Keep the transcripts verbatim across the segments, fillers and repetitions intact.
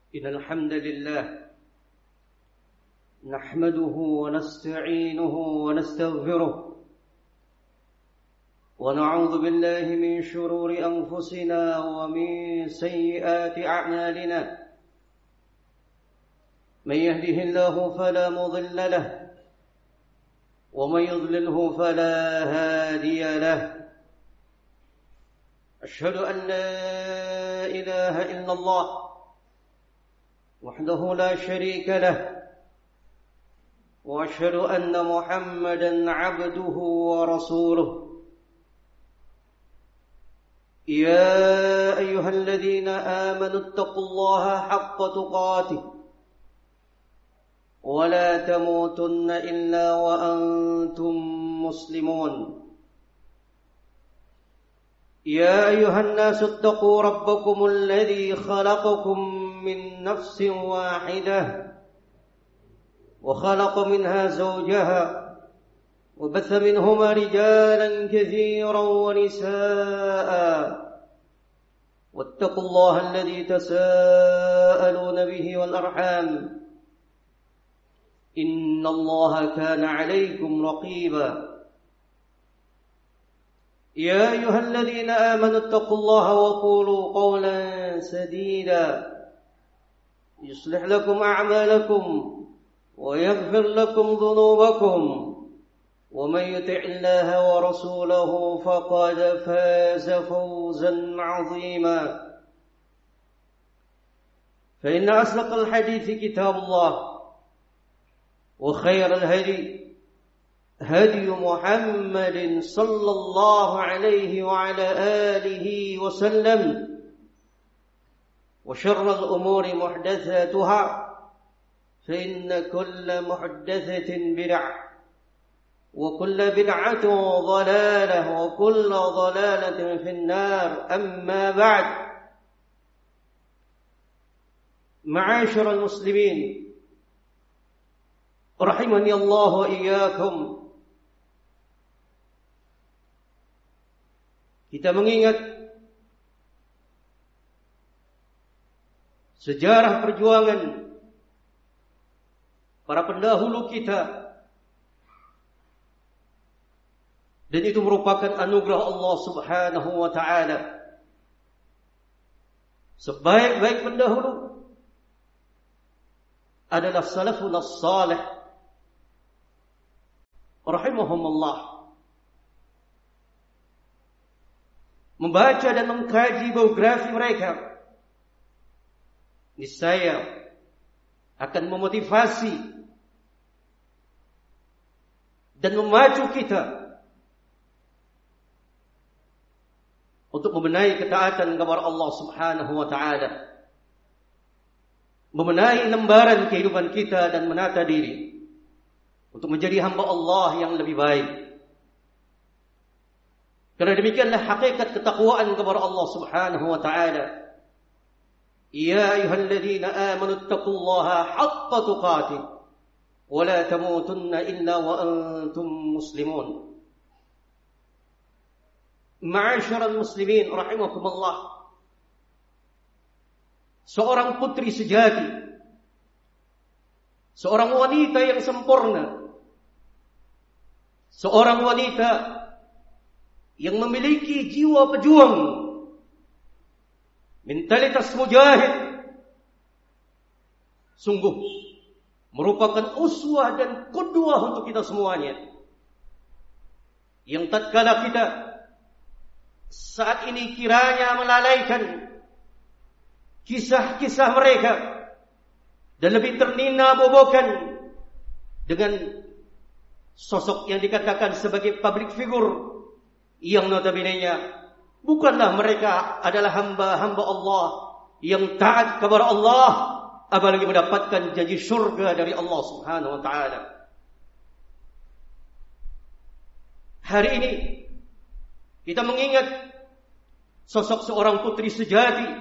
إن الحمد لله نحمده ونستعينه ونستغفره ونعوذ بالله من شرور أنفسنا ومن سيئات أعمالنا من يهده الله فلا مضل له ومن يضلله فلا هادي له أشهد أن لا إله إلا الله وحده لا شريك له وأشهد أن محمدا عبده ورسوله يا أيها الذين آمنوا اتقوا الله حق تقاته ولا تموتن إلا وأنتم مسلمون يا أيها الناس اتقوا ربكم الذي خلقكم من نفس واحدة وخلق منها زوجها وبث منهما رجالا كثيرا ونساء واتقوا الله الذي تساءلون به والأرحام إن الله كان عليكم رقيبا يا أيها الذين آمنوا اتقوا الله وقولوا قولا سديدا يصلح لكم أعمالكم ويغفر لكم ذنوبكم ومن يطع الله ورسوله فقد فاز فوزا عظيما فإن أصدق الحديث كتاب الله وخير الهدي هدي محمد صلى الله عليه وعلى آله وسلم وشر الأمور محدثاتها فإن كل محدثة بدعة وكل بدعة ضلالة وكل ضلالة في النار أما بعد معاشر المسلمين رحمني الله وإياكم. Kita mengingat sejarah perjuangan para pendahulu kita, dan itu merupakan anugerah Allah Subhanahu wa taala. Sebaik-baik pendahulu adalah salafun as-salih rahimahumullah. Membaca dan mengkaji biografi mereka niscaya akan memotivasi dan memacu kita untuk membenahi ketaatan kepada Allah Subhanahu wa taala, membenahi lembaran kehidupan kita dan menata diri untuk menjadi hamba Allah yang lebih baik. Karena demikianlah hakikat ketakwaan kepada Allah Subhanahu wa taala. Ya ayyuhalladzina amanu taqullaha haqqa tuqatih wa la tamutunna illa wa antum muslimun. Ma'asyiral muslimin rahimakumullah. Seorang putri sejati, seorang wanita yang sempurna, seorang wanita yang memiliki jiwa pejuang, mentalitas mujahid, sungguh merupakan uswah dan qudwah untuk kita semuanya. Yang tatkala kita saat ini kiranya melalaikan kisah-kisah mereka dan lebih ternina bobokan dengan sosok yang dikatakan sebagai public figure yang notabene-nya bukanlah mereka adalah hamba-hamba Allah yang taat kepada Allah, apalagi mendapatkan janji surga dari Allah Subhanahu wa taala. Hari ini kita mengingat sosok seorang putri sejati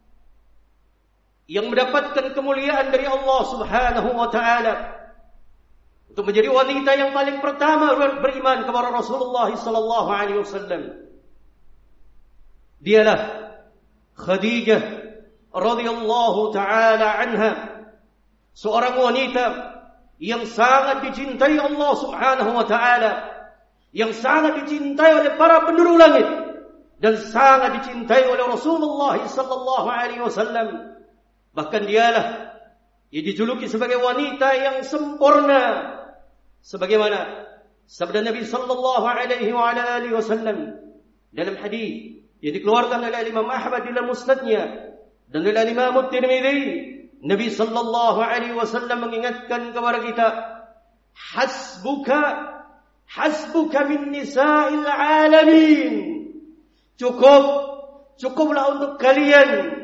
yang mendapatkan kemuliaan dari Allah Subhanahu wa taala untuk menjadi wanita yang paling pertama beriman kepada Rasulullah sallallahu alaihi wasallam. Dialah Khadijah radhiyallahu taala anha, seorang wanita yang sangat dicintai Allah Subhanahu wa taala, yang sangat dicintai oleh para penduduk langit dan sangat dicintai oleh Rasulullah sallallahu alaihi wasallam. Bahkan dialah yang dijuluki sebagai wanita yang sempurna, sebagaimana sabda Nabi sallallahu alaihi wa ala alihi wasallam dalam hadis yang dikeluarkan oleh Imam Ahmad dalam musnadnya dan oleh Imam At-Tirmidzi. Nabi sallallahu alaihi wasallam mengingatkan kepada kita, hasbuka hasbuka min nisa'il alamin. Cukup cukuplah untuk kalian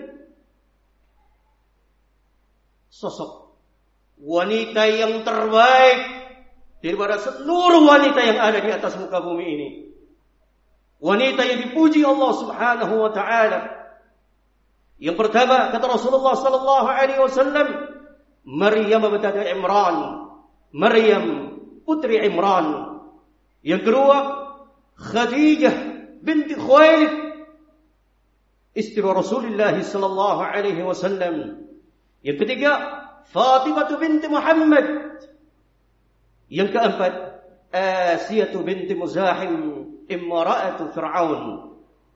sosok wanita yang terbaik daripada seluruh wanita yang ada di atas muka bumi ini. Wanita yang dipuji Allah Subhanahu wa taala. Yang pertama kata Rasulullah sallallahu alaihi wasallam, Maryam binti Imran, Maryam putri Imran. Yang kedua, Khadijah binti Khuwailid, istri Rasulullah sallallahu alaihi wasallam. Yang ketiga, Fatimah binti Muhammad. Yang keempat, Asiyah binti Muzahim, imra'atu Fir'aun.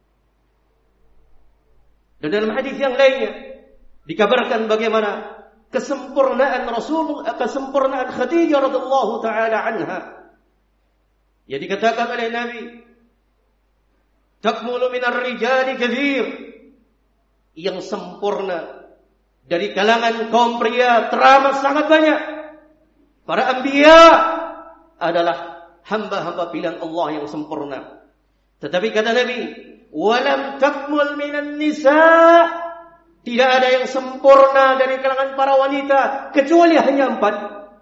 Dan dalam hadis yang lainnya dikabarkan bagaimana kesempurnaan Rasul, kesempurnaan Khadijah radhiyallahu taala anha. Yang dikatakan oleh Nabi, takmulu minar rijali katsir, yang sempurna dari kalangan kaum pria teramat sangat banyak. Para anbiya adalah hamba-hamba pilihan Allah yang sempurna. Tetapi kata Nabi, walam takmul minan nisa, tidak ada yang sempurna dari kalangan para wanita kecuali hanya empat.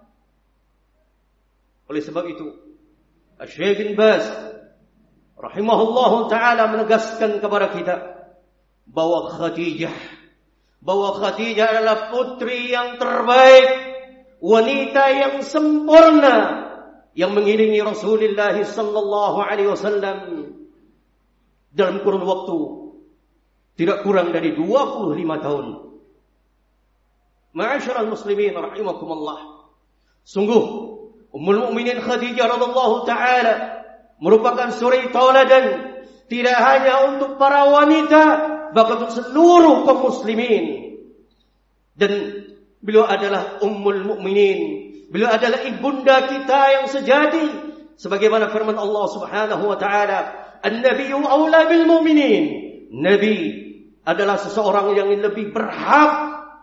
Oleh sebab itu, Syekh bin Baz rahimahullahu taala menegaskan kepada kita bahwa Khadijah bahwa Khadijah adalah putri yang terbaik, wanita yang sempurna yang mengiringi Rasulullah sallallahu alaihi wasallam dalam kurun waktu tidak kurang dari dua puluh lima tahun. Ma'asyiral muslimin rahimakumullah. Sungguh Ummul Mukminin Khadijah radhiyallahu taala merupakan suri tauladan tidak hanya untuk para wanita, bahkan untuk seluruh kaum muslimin. Dan beliau adalah Ummul Mukminin, beliau adalah ibunda kita yang sejati, sebagaimana firman Allah Subhanahu wa taala, An-Nabiyyu aula bil mu'minin. Nabi adalah seseorang yang lebih berhak.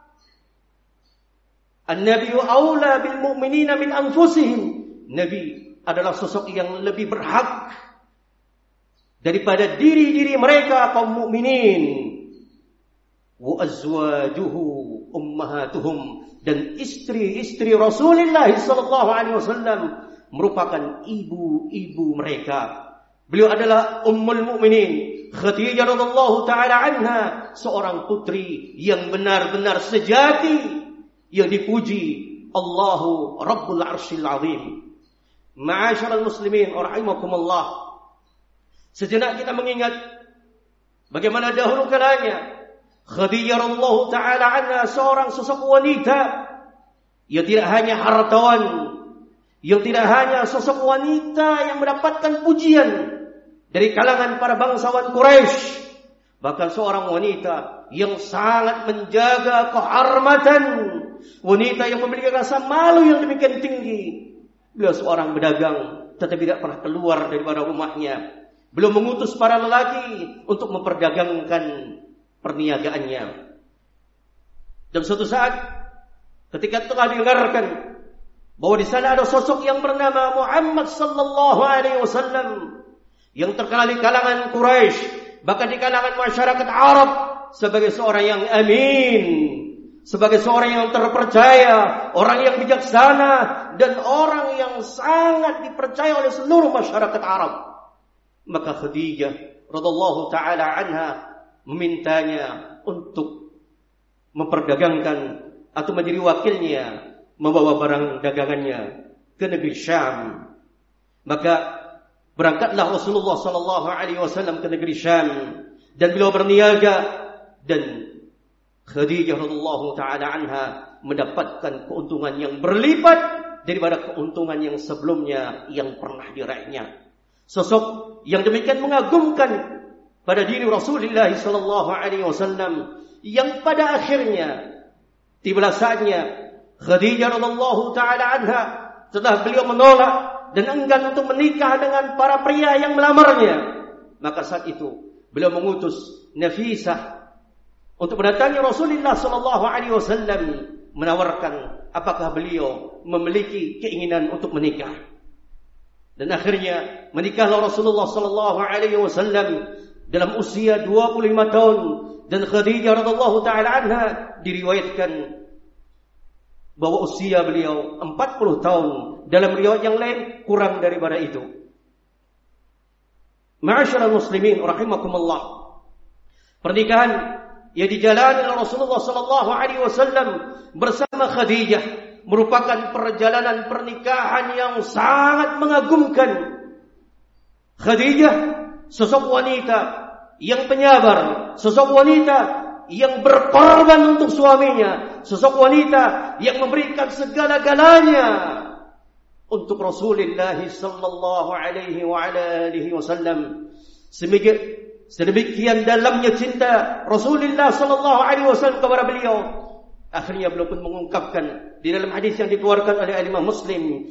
An-Nabiyyu aula bil mu'minina min anfusihim. Nabi adalah sosok yang lebih berhak daripada diri-diri mereka kaum mukminin. Wa azwajuhu ummahatuhum, dan istri-istri Rasulullah sallallahu alaihi wasallam merupakan ibu-ibu mereka. Beliau adalah Ummul Mukminin Khadijah radhiyallahu taala anha, seorang putri yang benar-benar sejati yang dipuji Allahu Rabbul Arsyil Azim. Ma'asyiral muslimin rahimakumullah. Sejenak kita mengingat bagaimana dahulu kalanya Khadijah radhiyallahu taala anha seorang sosok wanita yang tidak hanya hartawan, yang tidak hanya sosok wanita yang mendapatkan pujian dari kalangan para bangsawan Quraisy, bahkan seorang wanita yang sangat menjaga kehormatan, wanita yang memiliki rasa malu yang demikian tinggi. Beliau seorang pedagang, tetapi tidak pernah keluar daripada rumahnya. Beliau mengutus para lelaki untuk memperdagangkan perniagaannya. Dan suatu saat ketika telah didengarkan bahwa di sana ada sosok yang bernama Muhammad sallallahu alaihi wasallam yang terkenal di kalangan Quraisy, bahkan di kalangan masyarakat Arab sebagai seorang yang amin, sebagai seorang yang terpercaya, orang yang bijaksana, dan orang yang sangat dipercaya oleh seluruh masyarakat Arab. Maka Khadijah radhiyallahu taala anha memintanya untuk memperdagangkan atau menjadi wakilnya membawa barang dagangannya ke negeri Syam. Maka berangkatlah Rasulullah sallallahu alaihi wasallam ke negeri Syam dan beliau berniaga, dan Khadijah radhiyallahu taala anha mendapatkan keuntungan yang berlipat daripada keuntungan yang sebelumnya yang pernah diraihnya. Sosok yang demikian mengagumkan pada diri Rasulullah sallallahu alaihi wasallam yang pada akhirnya tibalah saatnya Khadijah radhiyallahu taala anha setelah beliau menolak dan enggan untuk menikah dengan para pria yang melamarnya, maka saat itu beliau mengutus Nafisah untuk mendatangi Rasulullah sallallahu alaihi wasallam menawarkan apakah beliau memiliki keinginan untuk menikah. Dan akhirnya menikahlah Rasulullah sallallahu alaihi wasallam dalam usia dua puluh lima tahun, dan Khadijah radhiyallahu taala anha diriwayatkan bahwa usia beliau empat puluh tahun, dalam riwayat yang lain kurang daripada itu. Ma'asyiral muslimin rahimakumullah, pernikahan yang dijalani oleh Rasulullah sallallahu alaihi wasallam bersama Khadijah merupakan perjalanan pernikahan yang sangat mengagumkan. Khadijah sosok wanita yang penyabar, sosok wanita yang berkorban untuk suaminya, sosok wanita yang memberikan segala-galanya untuk Rasulullah sallallahu alaihi wa ala alihi wasallam. Sedemikian dalamnya cinta Rasulullah sallallahu alaihi wasallam kepada beliau, akhirnya beliau pun mengungkapkan di dalam hadis yang dikeluarkan oleh Imam Muslim,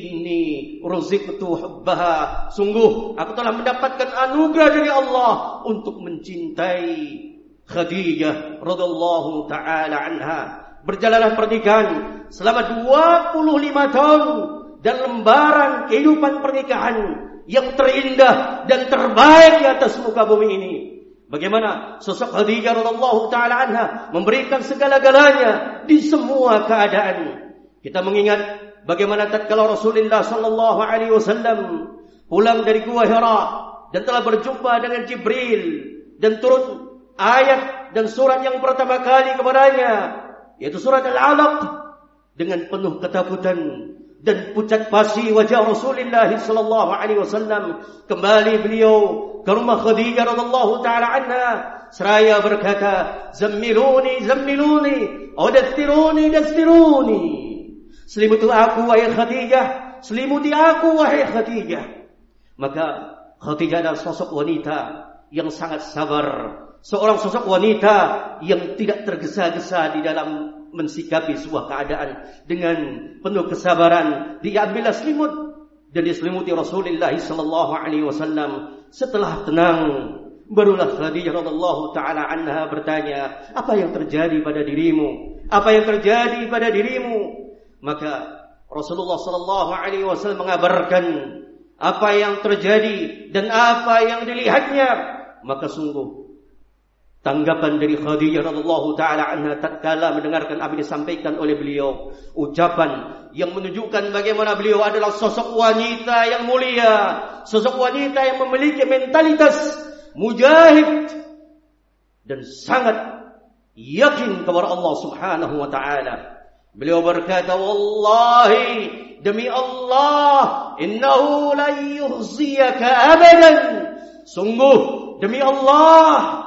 inni ruziqtu hubbaha, sungguh aku telah mendapatkan anugerah dari Allah untuk mencintai Khadijah radhiyallahu taala anha. Berjalanlah pernikahan selama dua puluh lima tahun dan lembaran kehidupan pernikahan yang terindah dan terbaik di atas muka bumi ini. Bagaimana sosok Khadijah radhiyallahu taala anha memberikan segala-galanya di semua keadaan. Kita mengingat bagaimana tatkala Rasulullah sallallahu alaihi wasallam pulang dari Gua Hira dan telah berjumpa dengan Jibril dan turun ayat dan surat yang pertama kali kepadanya, yaitu surat Al-Alaq, dengan penuh ketakutan dan pucat pasi wajah Rasulullah sallallahu alaihi wasallam, kembali beliau ke rumah Khadijah radhiyallahu taala anha seraya berkata, "Zammiluni, zammiluni, udaththiruni, daththiruni." Selimuti aku wahai Khadijah, selimuti aku wahai Khadijah. Maka Khadijah adalah sosok wanita yang sangat sabar, seorang sosok wanita yang tidak tergesa-gesa di dalam mensikapi sebuah keadaan. Dengan penuh kesabaran dia ambillah selimut dan diselimuti Rasulullah sallallahu alaihi wasallam. Setelah tenang, barulah Khadijah radhiyallahu taala anha bertanya, "Apa yang terjadi pada dirimu? Apa yang terjadi pada dirimu?" Maka Rasulullah sallallahu alaihi wasallam mengabarkan apa yang terjadi dan apa yang dilihatnya. Maka sungguh tanggapan dari Khadijah radhiyallahu taala anha tatkala mendengarkan apa yang disampaikan oleh beliau, ucapan yang menunjukkan bagaimana beliau adalah sosok wanita yang mulia, sosok wanita yang memiliki mentalitas mujahid dan sangat yakin kepada Allah Subhanahu wa taala. Beliau berkata, "Wallahi, demi Allah, innahu la yukhziyaka abadan." Sungguh demi Allah,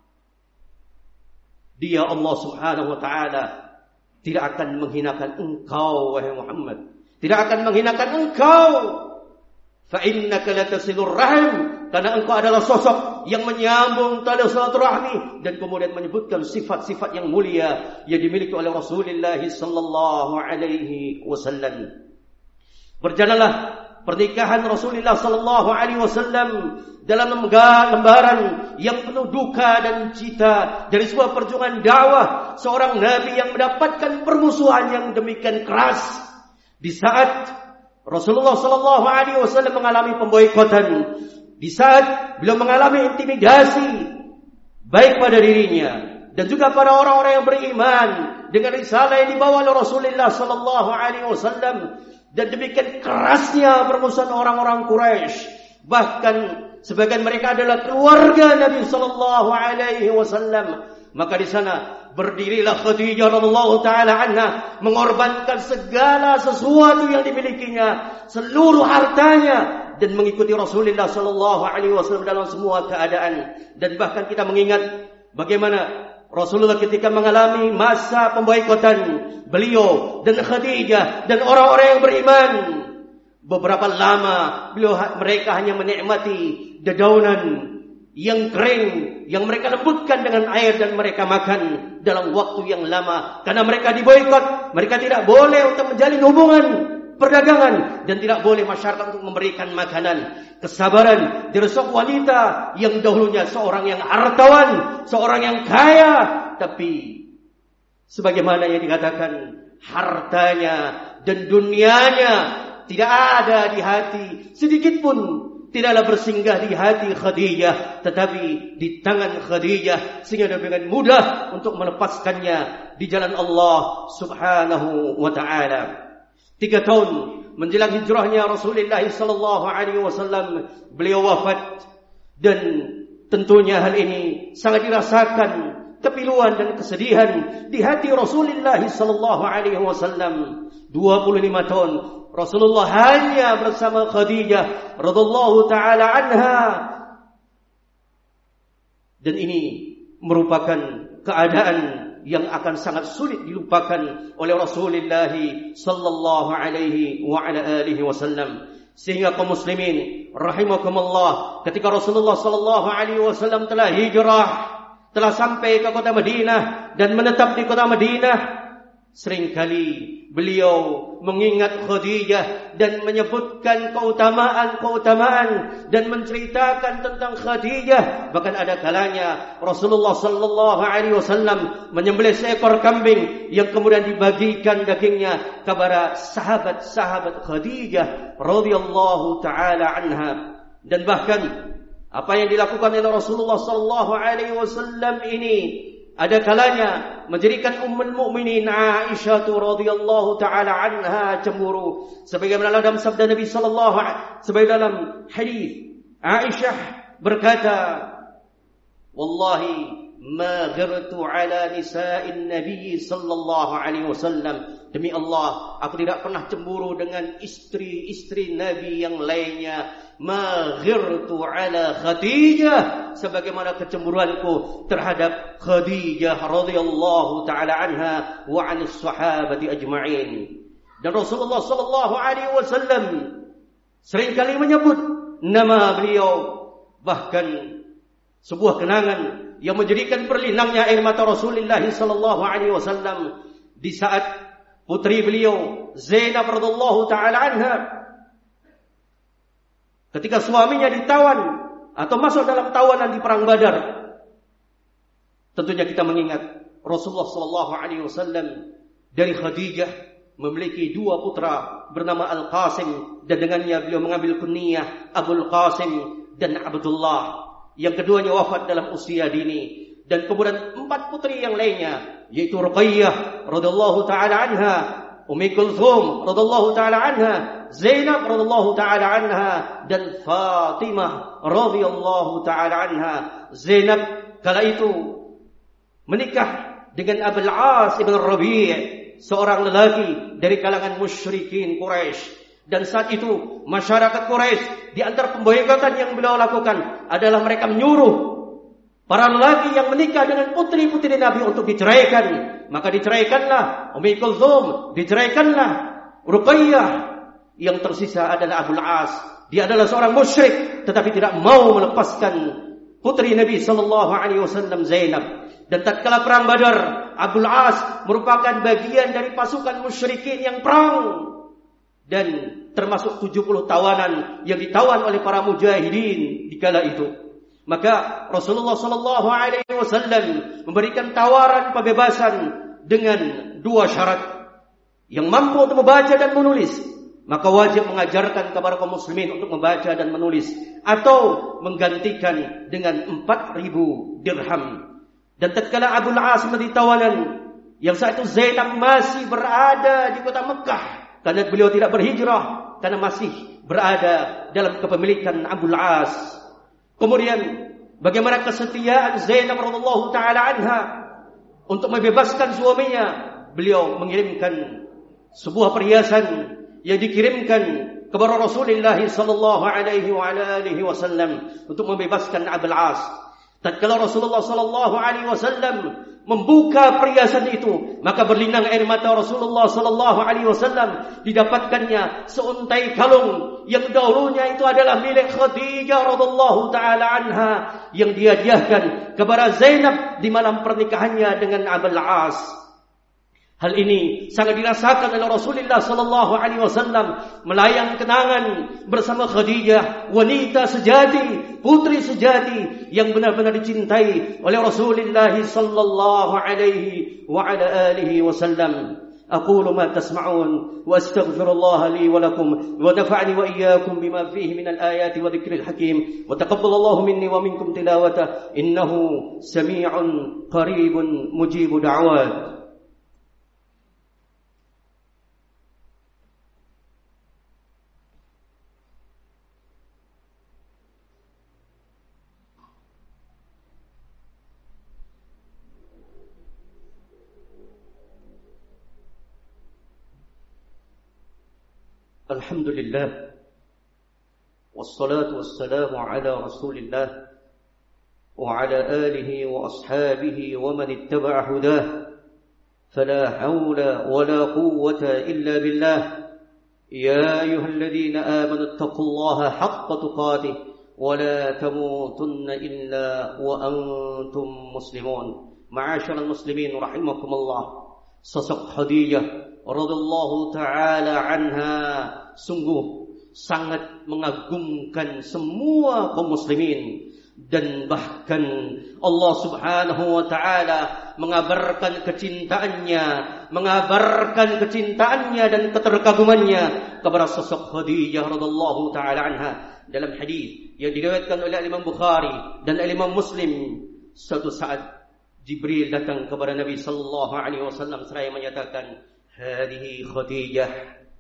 dia Allah Subhanahu wa taala tidak akan menghinakan engkau wahai Muhammad, tidak akan menghinakan engkau. Fa innaka latasilur rahim, karena engkau adalah sosok yang menyambung tali silaturahmi, dan kemudian menyebutkan sifat-sifat yang mulia yang dimiliki oleh Rasulullah sallallahu alaihi wasallam. Berjalanlah pernikahan Rasulullah sallallahu alaihi wasallam dalam lembaran yang penuh duka dan cita dari sebuah perjuangan dakwah seorang nabi yang mendapatkan permusuhan yang demikian keras. Di saat Rasulullah sallallahu alaihi wasallam mengalami pemboikotan, di saat beliau mengalami intimidasi baik pada dirinya dan juga pada orang-orang yang beriman dengan risalah yang dibawa oleh Rasulullah sallallahu alaihi wasallam, dan demikian kerasnya permusuhan orang-orang Quraisy, bahkan sebagian mereka adalah keluarga Nabi sallallahu alaihi wasallam. Maka di sana berdirilah Khadijah radhiyallahu taala anha mengorbankan segala sesuatu yang dimilikinya, seluruh hartanya, dan mengikuti Rasulullah sallallahu alaihi wasallam dalam semua keadaan. Dan bahkan kita mengingat bagaimana Rasulullah ketika mengalami masa pemboikotan beliau dan Khadijah dan orang-orang yang beriman, beberapa lama beliau mereka hanya menikmati dedaunan yang kering yang mereka lembutkan dengan air dan mereka makan dalam waktu yang lama. Karena mereka diboikot, mereka tidak boleh untuk menjalin hubungan perdagangan dan tidak boleh masyarakat untuk memberikan makanan. Kesabaran dari seorang wanita yang dahulunya seorang yang hartawan, seorang yang kaya, tapi sebagaimana yang dikatakan, hartanya dan dunianya tidak ada di hati, sedikit pun tidaklah bersinggah di hati Khadijah, tetapi di tangan Khadijah, sehingga dengan mudah untuk melepaskannya di jalan Allah Subhanahu wa taala. Tiga tahun menjelang hijrahnya Rasulullah sallallahu alaihi wasallam, beliau wafat, dan tentunya hal ini sangat dirasakan kepiluan dan kesedihan di hati Rasulullah sallallahu alaihi wasallam. dua puluh lima tahun Rasulullah hanya bersama Khadijah radhiyallahu taala anha, dan ini merupakan keadaan yang akan sangat sulit dilupakan oleh Rasulullah sallallahu alaihi wa ala alihi wasallam. Sehingga kaum muslimin rahimakumullah, ketika Rasulullah sallallahu alaihi wasallam telah hijrah, telah sampai ke kota Madinah dan menetap di kota Madinah, seringkali beliau mengingat Khadijah dan menyebutkan keutamaan-keutamaan dan menceritakan tentang Khadijah. Bahkan ada kalanya Rasulullah sallallahu alaihi wasallam menyembelih seekor kambing yang kemudian dibagikan dagingnya kepada sahabat-sahabat Khadijah radhiyallahu taala anha. Dan bahkan apa yang dilakukan oleh Rasulullah sallallahu alaihi wasallam ini ada kalanya menjadikan ummul mukminin Aisyah radhiyallahu taala anha cemburu. Sebagaimana dalam sabda Nabi sallallahu alaihi wasallam, sebagaimana dalam hadis Aisyah berkata, "Wallahi ma ghartu ala nisa'in Nabi sallallahu alaihi wasallam." Demi Allah, aku tidak pernah cemburu dengan istri-istri Nabi yang lainnya. Ma ghirtu ala Khadijah, sebagaimana kecemburuanku terhadap Khadijah radhiyallahu taala anha wa 'anis sahabati ajma'in. Dan Rasulullah sallallahu alaihi wasallam seringkali menyebut nama beliau, bahkan sebuah kenangan yang menjadikan berlinangnya air mata Rasulullah sallallahu alaihi wasallam di saat putri beliau Zainab radhiyallahu taala anha ketika suaminya ditawan atau masuk dalam tawanan di perang Badar. Tentunya kita mengingat Rasulullah sallallahu alaihi wasallam dari Khadijah memiliki dua putra bernama Al-Qasim, dan dengannya beliau mengambil kunyah Abul Qasim dan Abdullah. Yang keduanya wafat dalam usia dini. Dan kemudian empat putri yang lainnya, yaitu Ruqayyah radhiyallahu taala anha, Ummi Kulthum radhiyallahu taala anha, Zainab radhiyallahu taala anha, dan Fatimah radhiyallahu taala anha. Zainab kala itu menikah dengan Abul As ibn Rabi', seorang lelaki dari kalangan musyrikin Quraisy. Dan saat itu masyarakat Quraisy, di antara pemboikotan yang beliau lakukan adalah mereka menyuruh para lelaki yang menikah dengan putri-putri Nabi untuk diceraikan. Maka diceraikanlah Ummi Kulthum, diceraikanlah Ruqayyah. Yang tersisa adalah Abul As. Dia adalah seorang musyrik, tetapi tidak mau melepaskan putri Nabi sallallahu alaihi wasallam Zainab. Dan tatkala perang Badar, Abul As merupakan bagian dari pasukan musyrikin yang perang, dan termasuk tujuh puluh tawanan yang ditawan oleh para mujahidin di kala itu. Maka Rasulullah sallallahu alaihi wasallam memberikan tawaran pembebasan dengan dua syarat. Yang mampu untuk membaca dan menulis, maka wajib mengajarkan kepada kaum muslimin untuk membaca dan menulis, atau menggantikan dengan empat ribu dirham. Dan tatkala Abul As menjadi tawanan, yang saat itu Zainab masih berada di kota Mekah, karena beliau tidak berhijrah, karena masih berada dalam kepemilikan Abul As. Kemudian bagaimana kesetiaan Zainab radhiyallahu taala anha untuk membebaskan suaminya? Beliau mengirimkan sebuah perhiasan yang dikirimkan kepada Rasulullah sallallahu alaihi wa alihi wasallam untuk membebaskan Abul As. Tatkala Rasulullah sallallahu alaihi wasallam membuka perhiasan itu, maka berlinang air mata Rasulullah sallallahu alaihi wasallam. Didapatkannya seuntai kalung yang dahulunya itu adalah milik Khadijah radhiyallahu taala anha, yang dihadiahkan kepada Zainab di malam pernikahannya dengan Abul As. Hal ini sangat dirasakan oleh Rasulullah sallallahu alaihi wasallam, melayang kenangan bersama Khadijah, wanita sejati, putri sejati yang benar-benar dicintai oleh Rasulullah sallallahu alaihi wa ala alihi wasallam. Aqulu ma tasma'un wa astaghfirullah li wa lakum wa nafa'ani wa iyyakum bima fihi min al-ayati wa dhikril hakim wa taqabbalallahu minni wa minkum tilawata innahu sami'un qaribun mujibu da'wat. Alhamdulillah, wassalatu wassalamu ala rasulillah wa ala alihi wa ashabihi wa man ittaba'a hudah, fala hawla wa la quwwata illa billah. Ya ayyuhalladhina amanu ittaqullaha haqqa tuqatih wa la tamutunna illa wa antum muslimun. Ma'asyiral muslimin rahimakumullah. Sosok Khadijah radhiyallahu taala anha sungguh sangat mengagumkan semua kaum muslimin, dan bahkan Allah Subhanahu wa taala mengabarkan kecintaannya, mengabarkan kecintaannya dan keterkagumannya kepada sosok Khadijah radhiyallahu taala anha dalam hadis yang diriwayatkan oleh Imam Bukhari dan Imam Muslim. Suatu saat Jibril datang kepada Nabi sallallahu alaihi wasallam seraya menyatakan, "Hadhihi Khadijah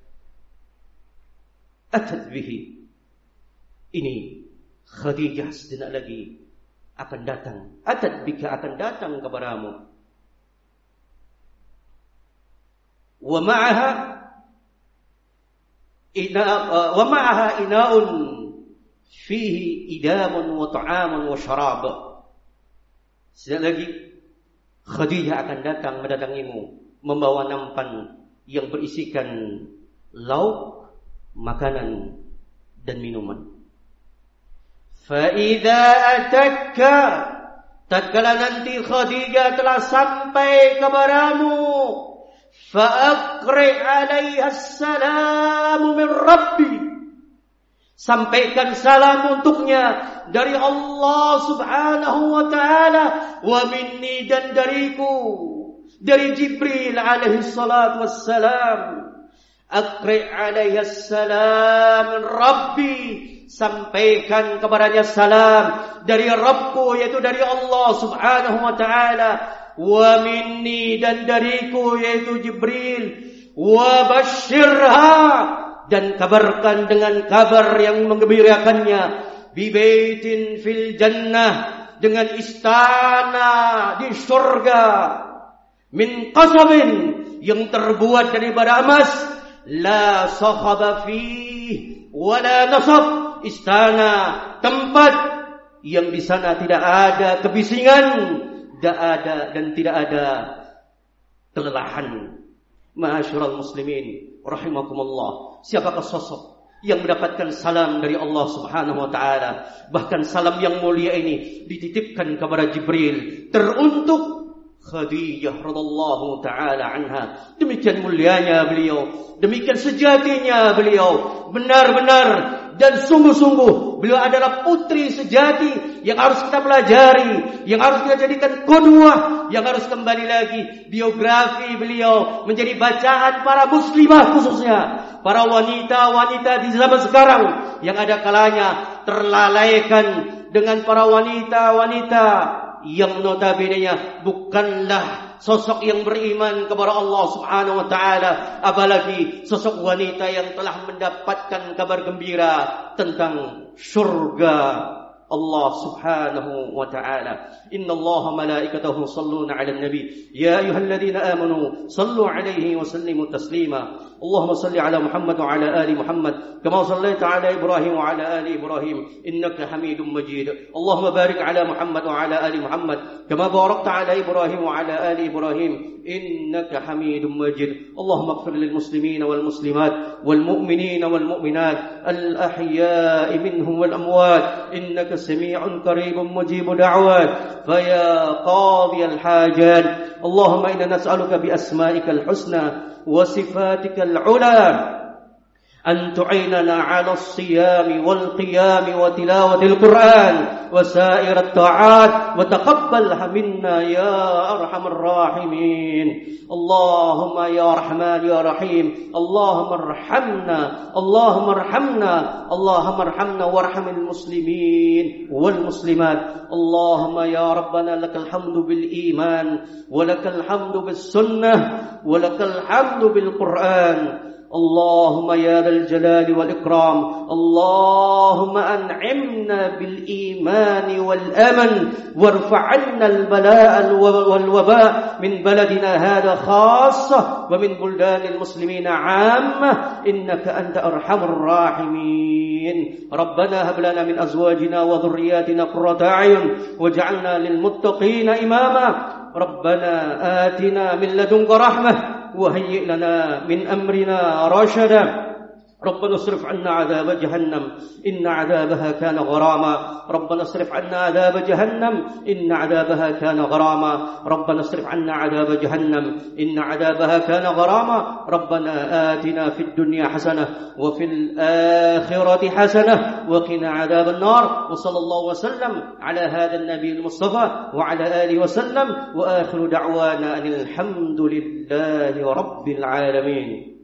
atat bihi." Ini Khadijah sejenak lagi akan datang. Atat bika, akan datang kepadamu. Wa ma'aha ina wa ma'aha inaun fihi idamun wa ta'amun wa syarab. Sejenak lagi Khadijah akan datang mendatangimu membawa nampan yang berisikan lauk, makanan dan minuman. Fa idza atakka, tatkala nanti Khadijah telah sampai kepadamu, fa aqri 'alaiha assalamu min rabbi, sampaikan salam untuknya dari Allah Subhanahu wa taala, wa minni, dan dariku, dari Jibril alaihi salatu wassalam. Aqri 'alaiha assalam rabbi, sampaikan kepadanya salam dari Rabbku, yaitu dari Allah Subhanahu wa taala. Wa minni, dan dariku, yaitu Jibril. Wa basyirha, dan kabarkan dengan kabar yang menggembirakannya, bi baitin fil jannah, dengan istana di surga, min qasabin, yang terbuat daripada emas, la sakhaba fihi wa la nasab, istana, tempat yang di sana tidak ada kebisingan, tidak ada dan tidak ada kelelahan. Ma'asyiral muslimin rahimakumullah, siapakah sosok yang mendapatkan salam dari Allah Subhanahu wa taala? Bahkan salam yang mulia ini dititipkan kepada Jibril teruntuk Khadijah radhiyallahu taala anha. Demikian mulianya beliau, demikian sejatinya beliau, benar-benar dan sungguh-sungguh beliau adalah putri sejati yang harus kita pelajari, yang harus kita jadikan qudwah, yang harus kembali lagi biografi beliau menjadi bacaan para muslimah, khususnya para wanita-wanita di zaman sekarang yang ada kalanya terlalaikan dengan para wanita-wanita yang notabene-nya bukanlah sosok yang beriman kepada Allah Subhanahu wa taala, apalagi sosok wanita yang telah mendapatkan kabar gembira tentang surga Allah Subhanahu wa ta'ala. Inna Allah malaikatahu yusalluna 'alan nabi ya ayyuhalladzina amanu sallu 'alaihi wa sallimu taslima. Allahumma salli 'ala Muhammad wa 'ala ali Muhammad kama sallaita 'ala Ibrahim wa 'ala ali Ibrahim innaka Hamidum Majid. Allahumma barik 'ala Muhammad wa 'ala ali Muhammad kama barakta 'ala Ibrahim wa 'ala ali Ibrahim innaka Hamidum Majid. Allahumma ighfir lil muslimina wal muslimat wal mu'minina wal mu'minat al ahya'i minhum wal amwat innaka sami'un qaribun mujibud da'wat faya qadiyal hajat. Allahumma inna nas'aluka bi asma'ikal husna wa sifatikal 'ula أن تعيننا على الصيام والقيام وتلاوة القرآن وسائر الطاعات وتقبلها منا يا أرحم الراحمين. اللهم يا رحمن يا رحيم اللهم ارحمنا اللهم ارحمنا اللهم ارحمنا وارحم المسلمين والمسلمات. اللهم يا ربنا لك الحمد بالإيمان ولك الحمد بالسنة ولك الحمد بالقرآن. اللهم يا ذا الجلال والإكرام اللهم أنعمنا بالإيمان والأمن وارفع عنا البلاء والوباء من بلدنا هذا خاصة ومن بلدان المسلمين عامة إنك أنت أرحم الراحمين. ربنا هب لنا من أزواجنا وذرياتنا قرة أعين واجعلنا للمتقين إماما. ربنا آتنا من لدنك رحمة وهيئ لنا من أمرنا رشدا. ربنا اصرف عنا عذاب جهنم إن عذابها كان غراما. ربنا اصرف عنا عذاب جهنم إن عذابها كان غراما. ربنا اصرف عنا عذاب جهنم إن عذابها كان غراما. ربنا آتنا في الدنيا حسنة وفي الآخرة حسنة وقنا عذاب النار. وصلى الله وسلم على هذا النبي المصطفى وعلى آله وسلم وآخر دعوانا أن الحمد لله رب العالمين.